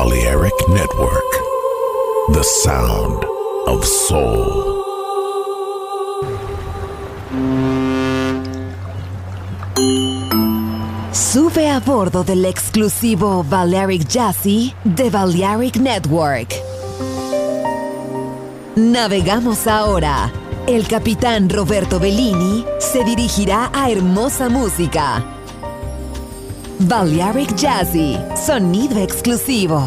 Balearic Network, the sound of soul. Sube a bordo del exclusivo Balearic Jazzy de Balearic Network. Navegamos ahora. El capitán Roberto Bellini se dirigirá a hermosa música. Balearic Jazzy, sonido exclusivo.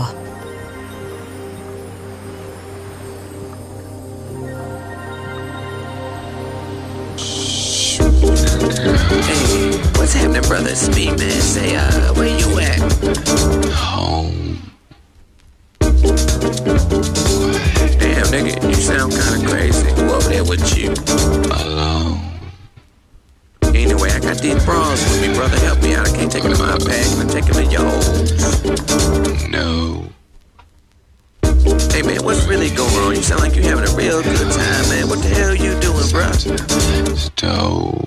Hey, what's happening, brother? Speed man, say, where you at? Home. Damn, nigga, you sound kinda crazy. Who over there with you? Alone. Anyway, I got these bras with me, brother. Help me out. I can't take them to my bag and take them to yours. No. Hey, man, what's really going on? You sound like you having a real good time, man. What the hell you doing, bruh? Stove.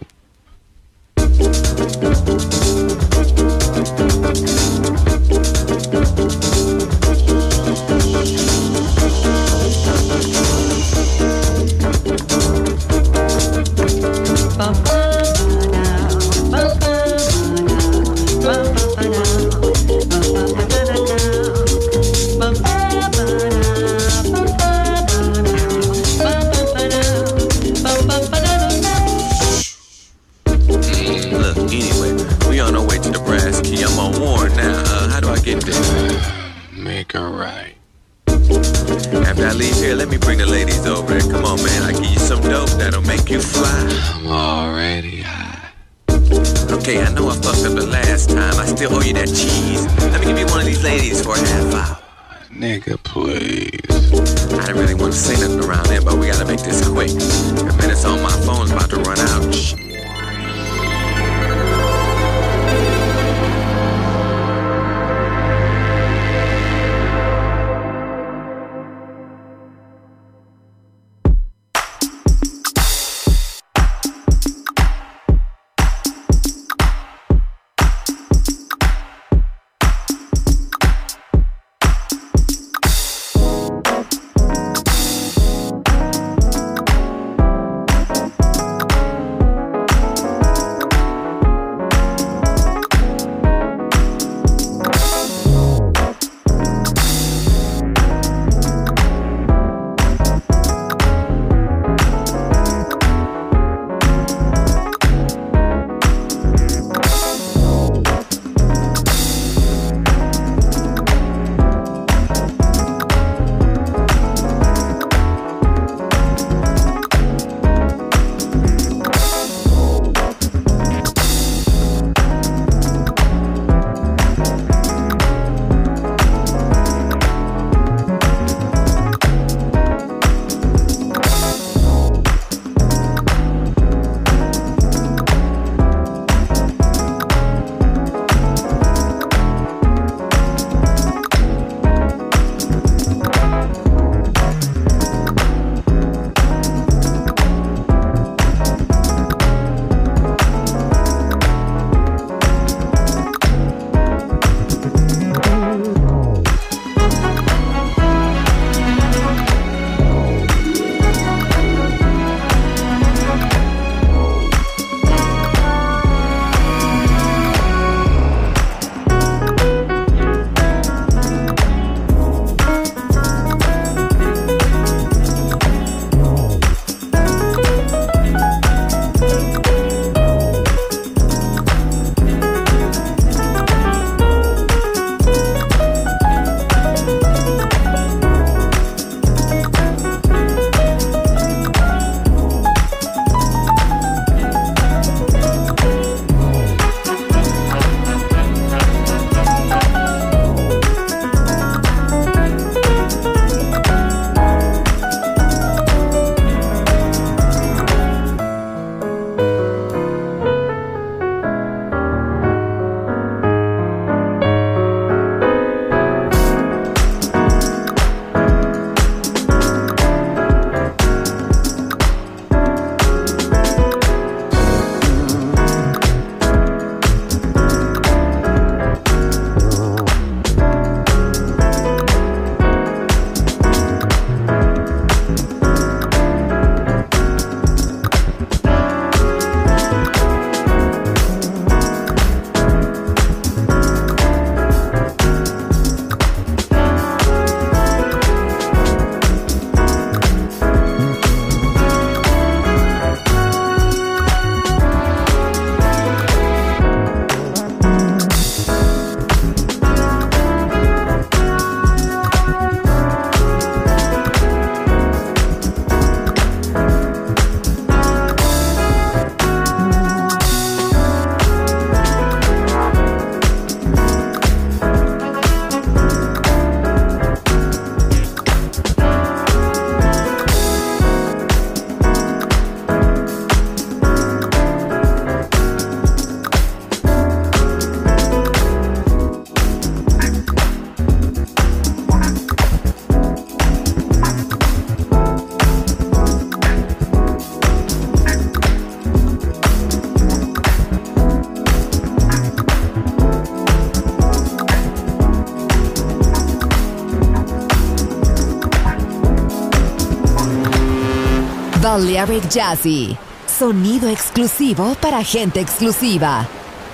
Make her right. After I leave here, let me bring the ladies over there. Come on, man. I give you some dope that'll make you fly. I'm already high. Okay, I know I fucked up the last time. I still owe you that cheese. Let me give you one of these ladies for a half hour. Nigga, please. I didn't really want to say nothing around there, but we gotta make this quick. The minutes on my phone's about to run out. Shh. Balearic Jazzy. Sonido exclusivo para gente exclusiva.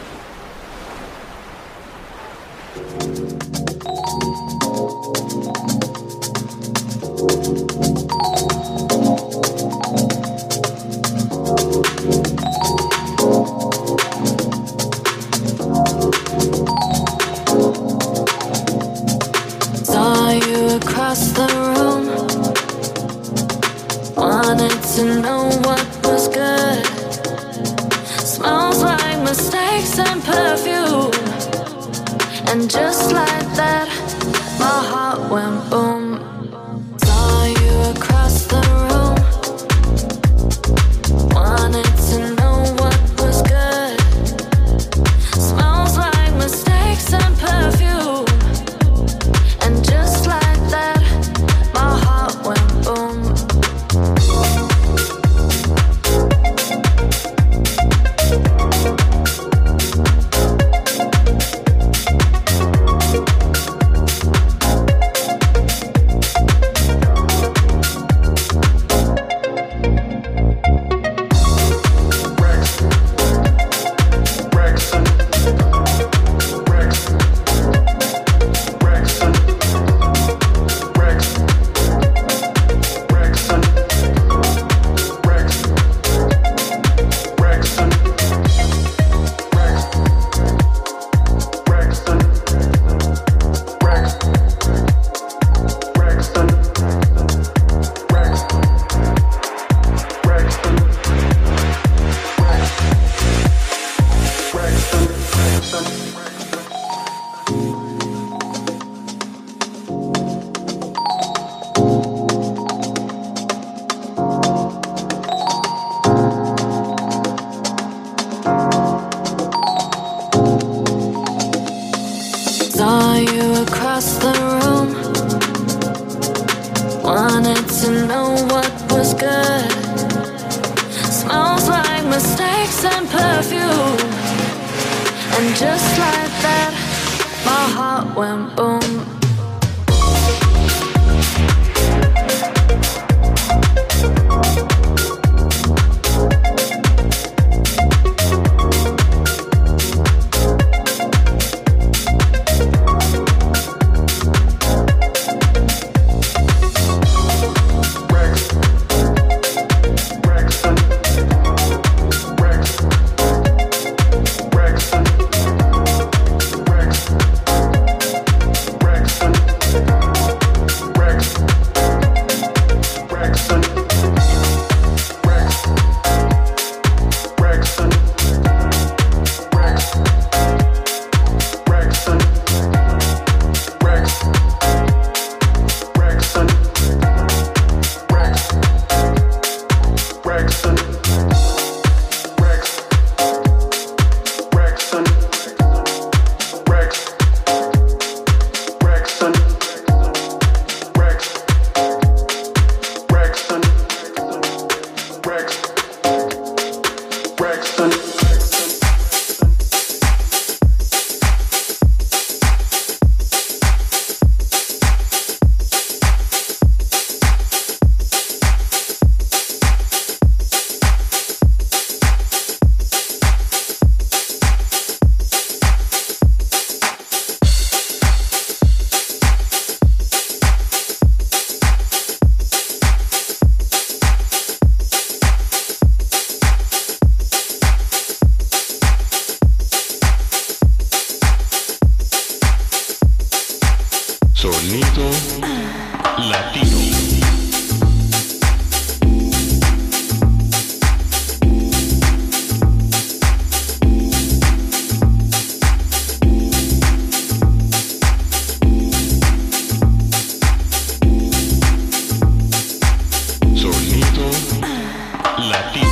Saw you across the room. Wanted to know what was good. Smells like mistakes and perfume. And just like that, my heart went boom. Saw you across the room. Wanted to know what was good. Smells like mistakes and perfume. And just like that, my heart went boom. Saw you across the room. Wanted to know what was good. Smells like mistakes and perfume. And just like that, my heart went boom. Sonido latino. Sonido latino.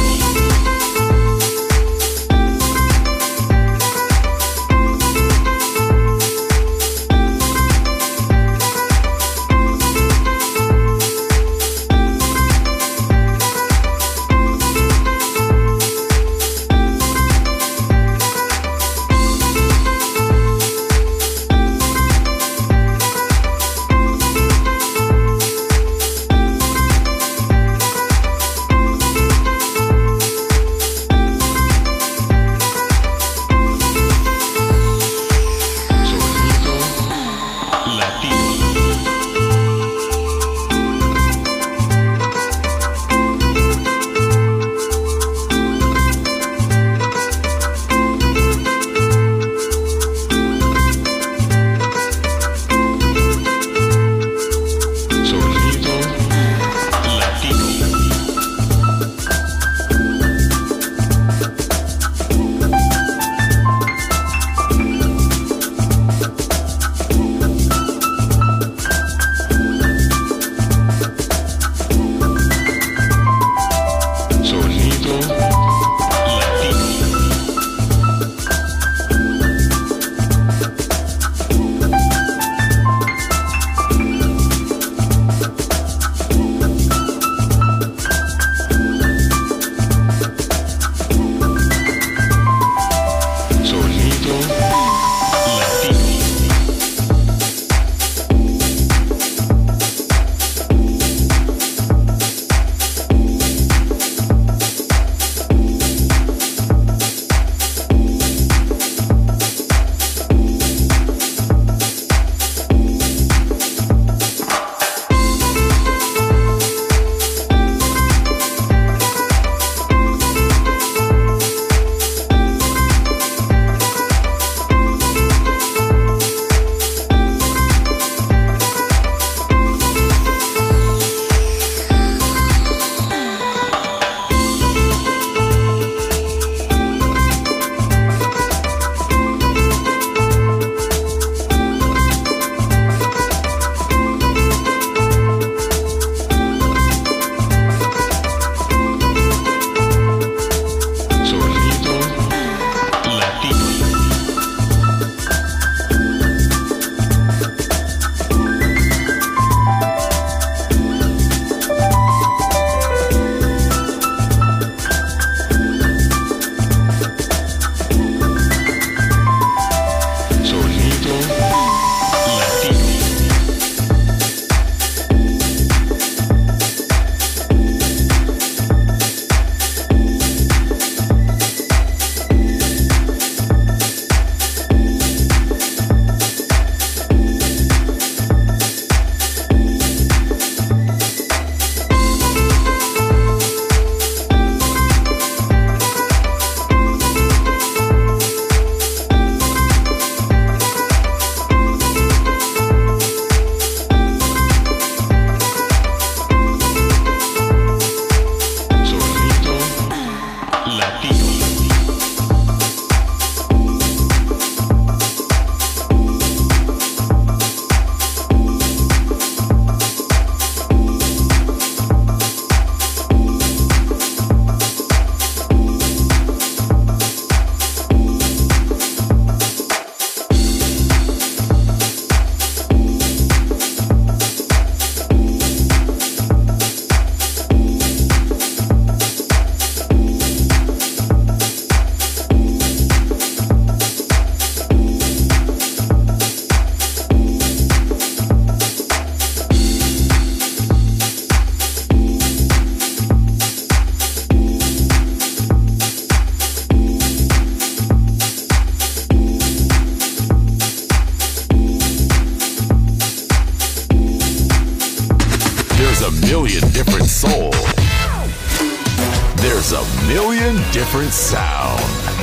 There's a million different sounds.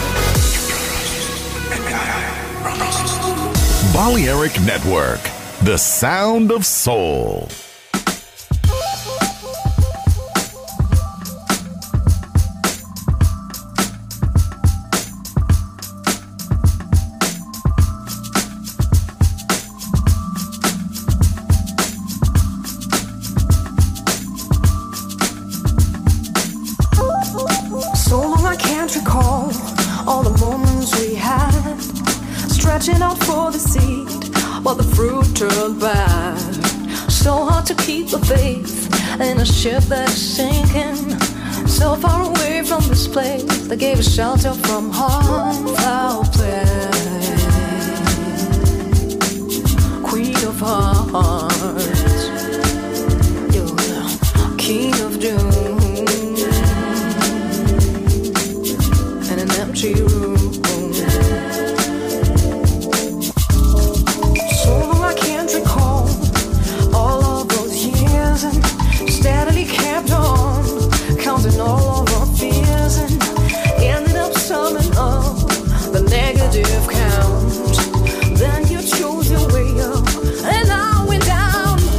Balearic Network, the sound of soul. Stretching out for the seed, while the fruit turned bad. So hard to keep the faith in a ship that's sinking. So far away from this place that gave us shelter from harm. Foul play, queen of hearts, you're king of doom, in an empty room. Steadily kept on counting all of our fears and ended up summing up the negative count. Then you chose your way up and I went down.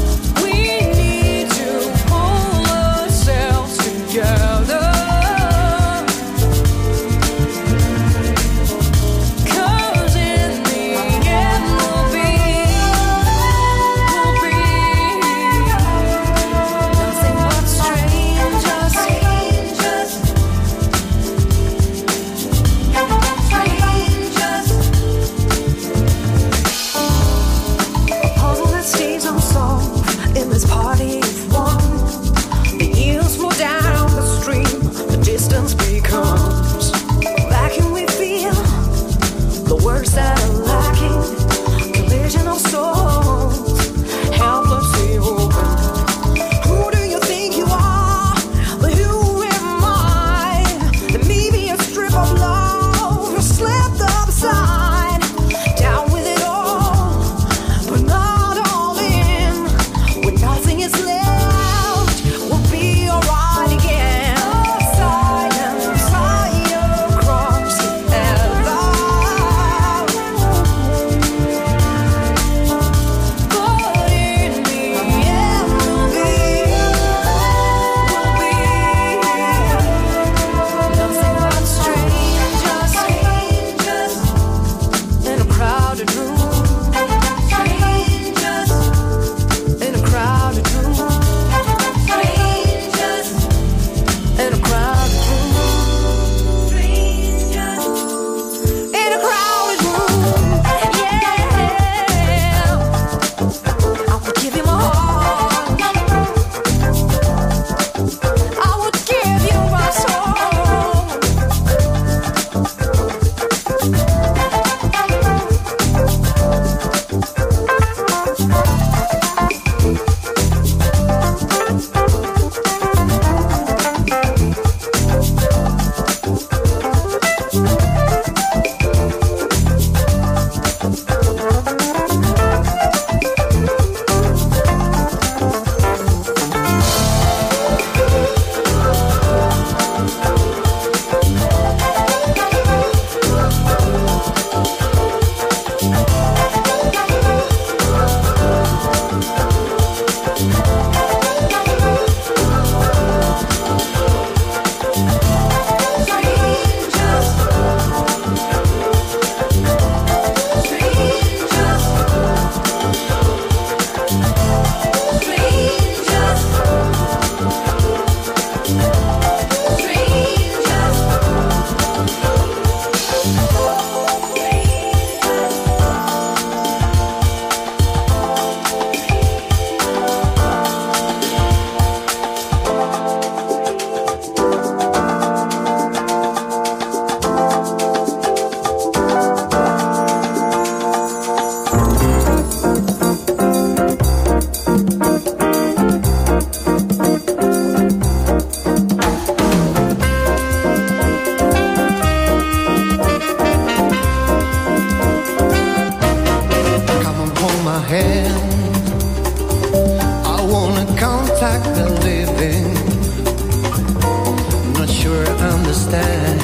understand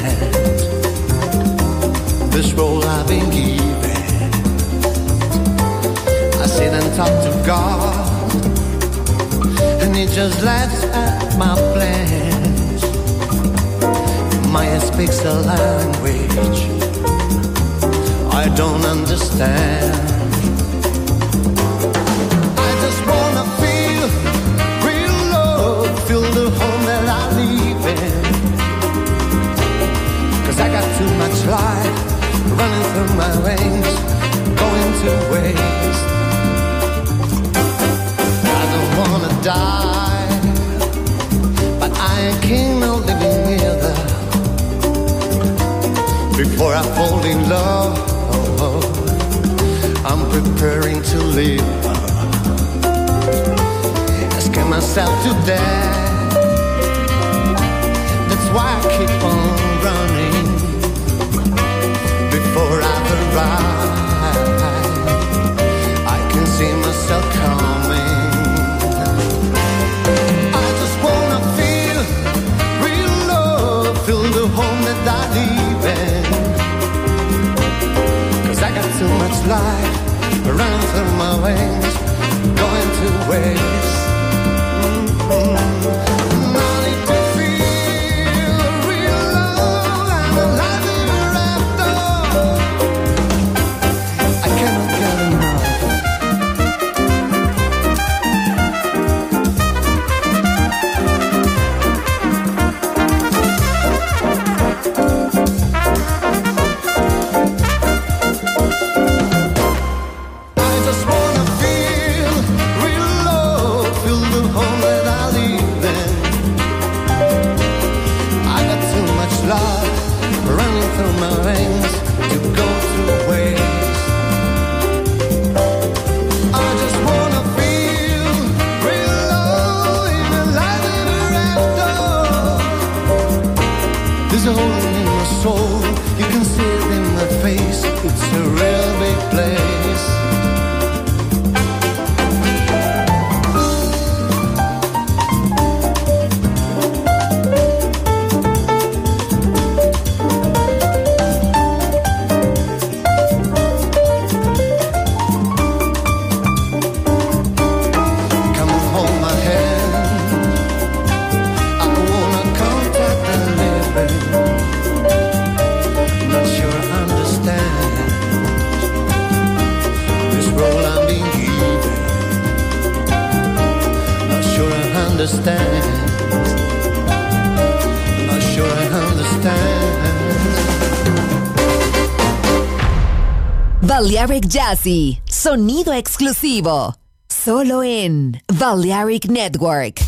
this role I've been given. I sit and talk to God, and He just laughs at my plans. Maya speaks a language I don't understand. I just wanna feel real love, feel the home that I live in. 'Cause I got too much life running through my veins, going to waste. I don't wanna die, but I ain't keen on living either. Before I fall in love, I'm preparing to live. Asking myself to death. That's why I keep on running. Before I arrive, I can see myself coming. I just wanna feel real love, feel the home that I live in. 'Cause I got too much life running through my veins, going to waste. I need to feel real love, I'm alive ever after. I cannot get enough. Balearic Jazzy, sonido exclusivo, solo en Balearic Network.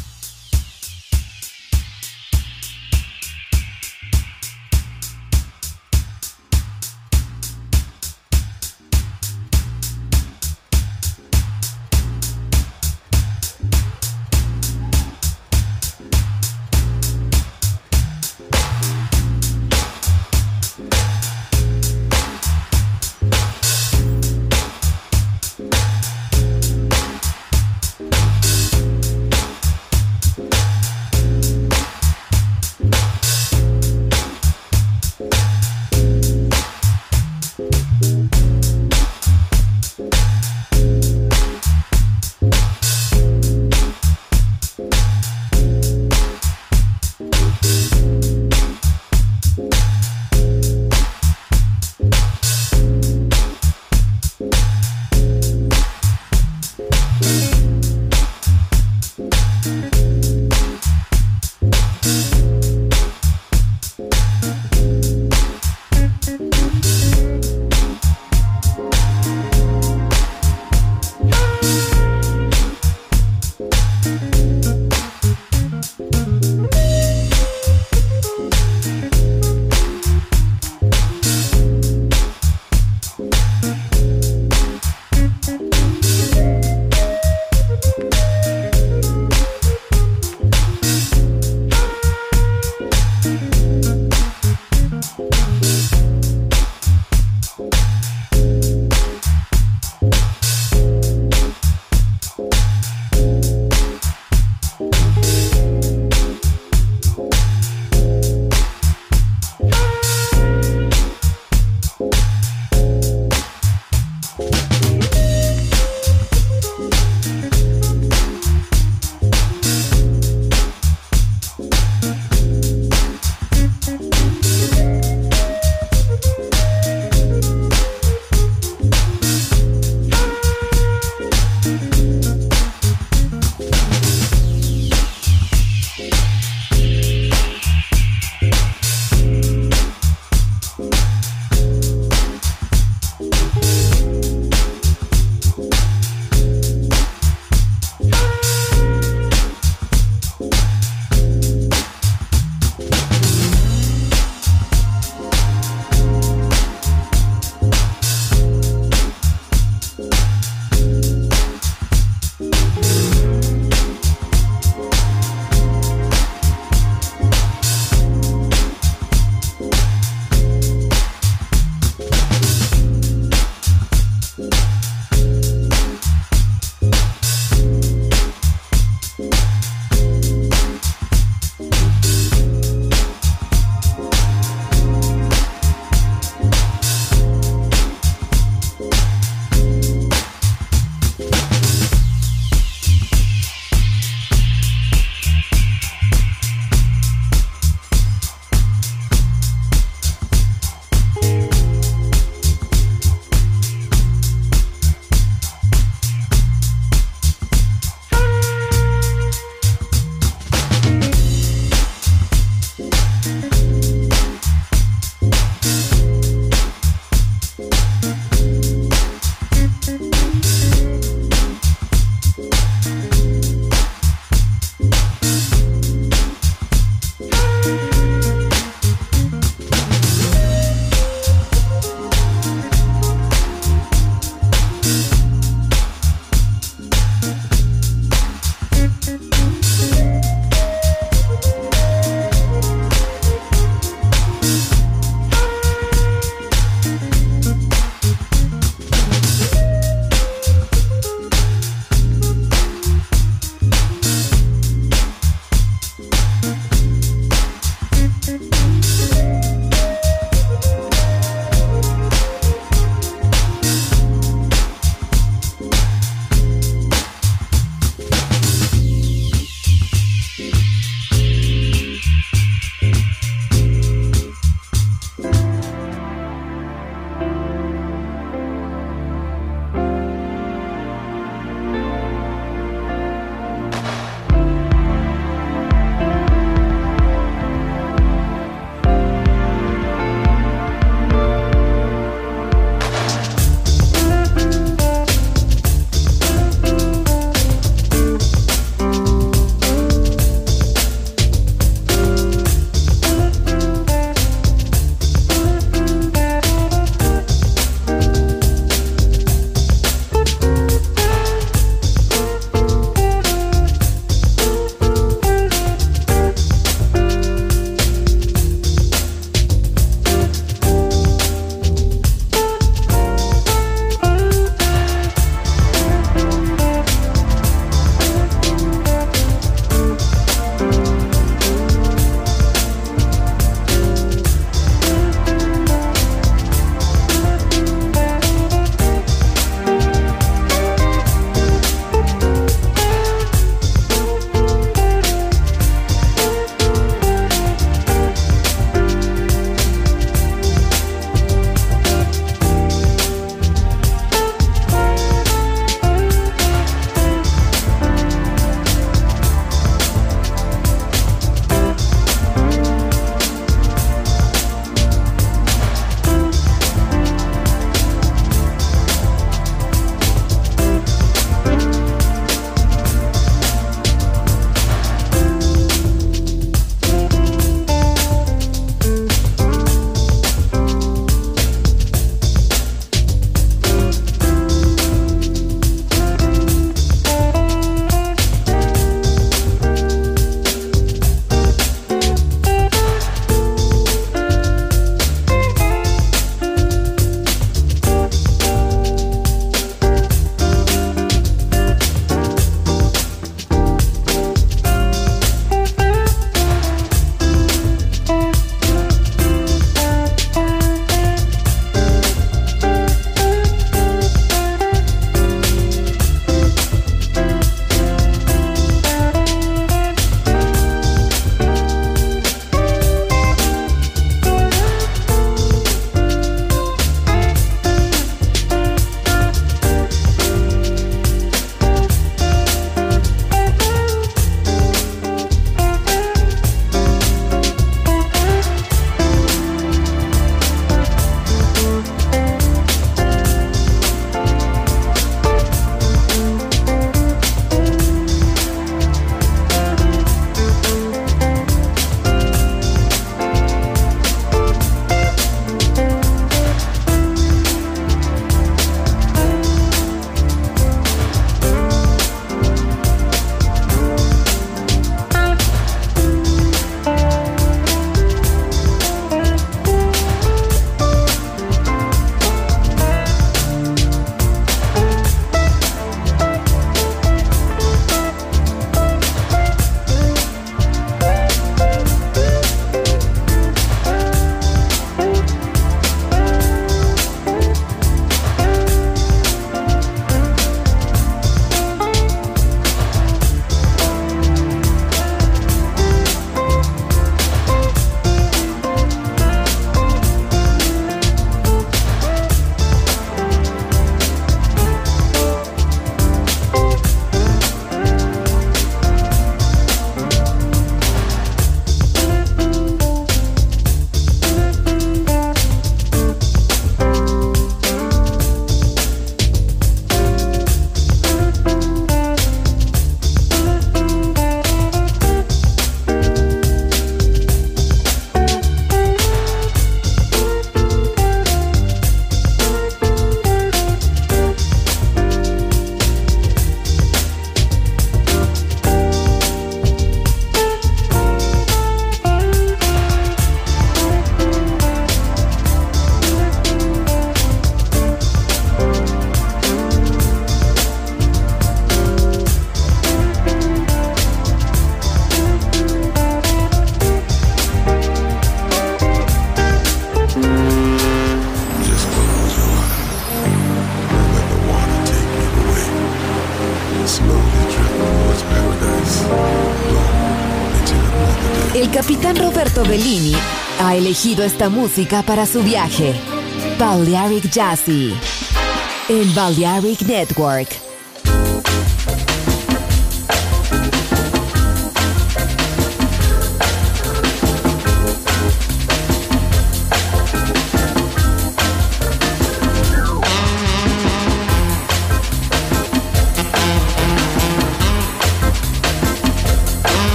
capitán Roberto Bellini ha elegido esta música para su viaje. Balearic Jazzy en Balearic Network.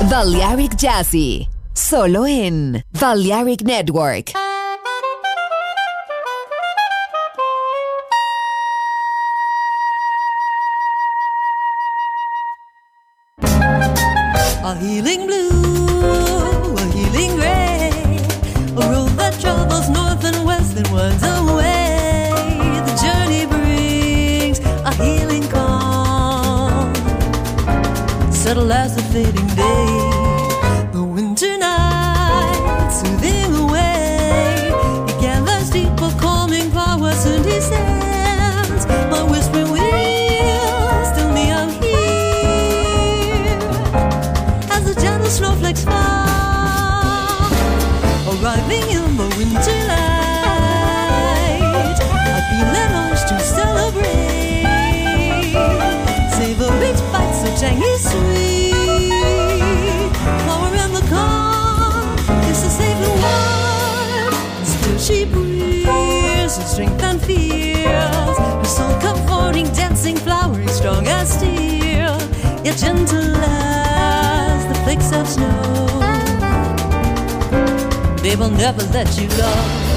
Balearic Jazzy, solo en Balearic Network. A healing blue, a healing gray, a road that travels north and west and winds away. The journey brings a healing calm, settle as the fading day. The winter night, soothing away, it gathers deeper, calming powers and descends. My whispering wheels tell me I'm here as the gentle snowflakes fall, arriving in the winter light. I feel an urge to celebrate, savor each bite so tangy sweet. Flower in the calm, it's a safe and warm. Still she breathes her strength and feels, her soul comforting, dancing, flowering, strong as steel, yet gentle as the flakes of snow. They will never let you go.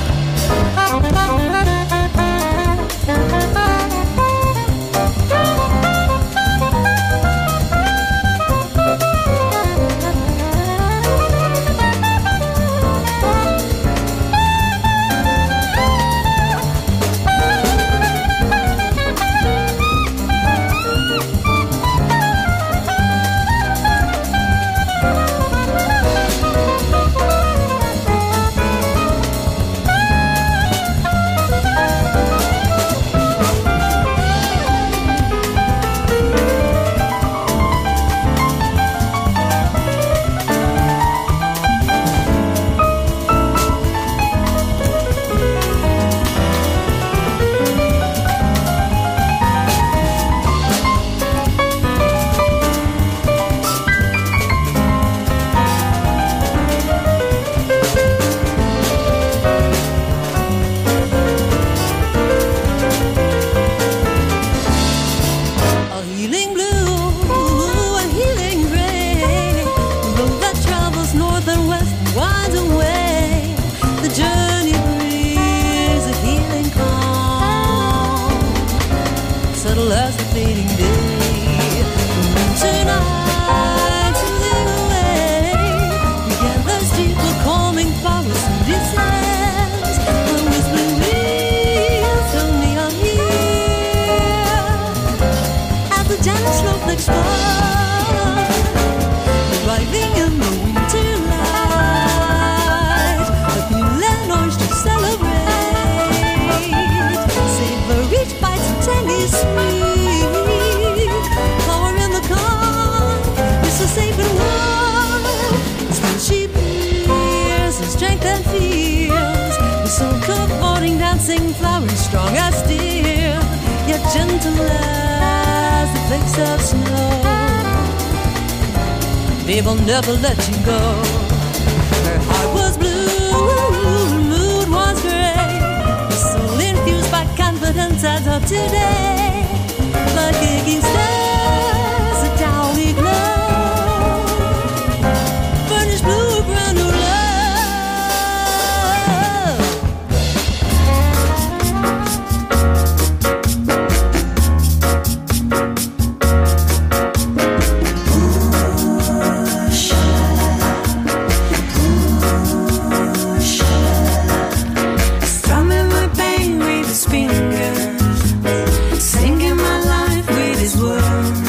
Strong as steel, yet gentle as the flakes of snow. They will never let you go. Her heart was blue, her mood was gray, her soul infused by confidence as of today. Like aching stars, a downy glow, burnished blue, brand new love. Fingers, singing my life with his words.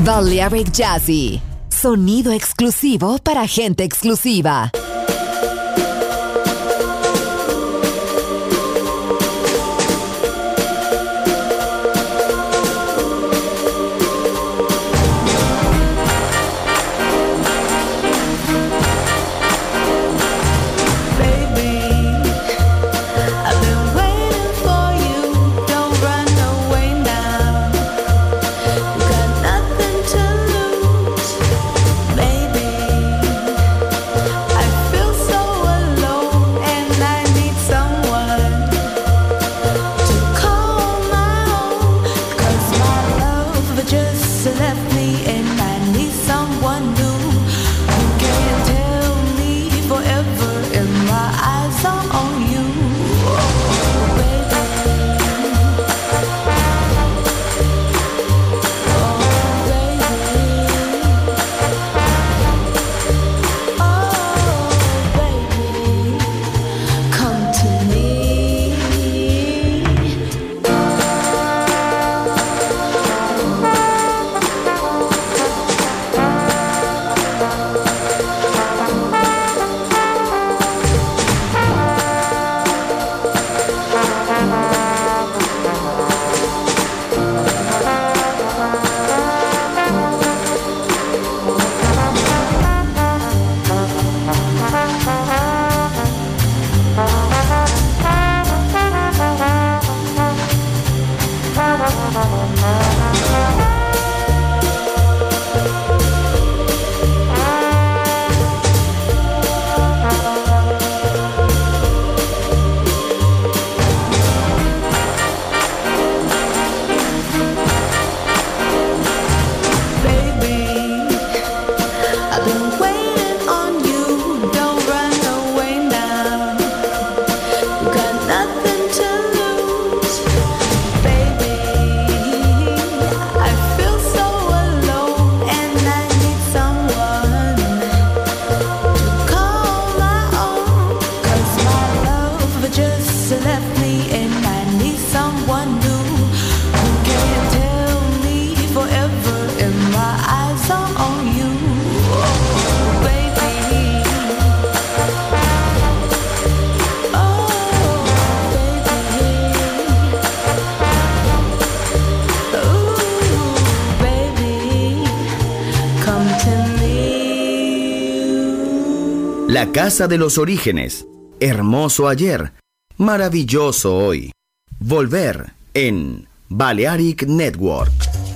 Balearic Jazzy. Sonido exclusivo para gente exclusiva. La Casa de los Orígenes. Hermoso ayer, maravilloso hoy. Volver en Balearic Network.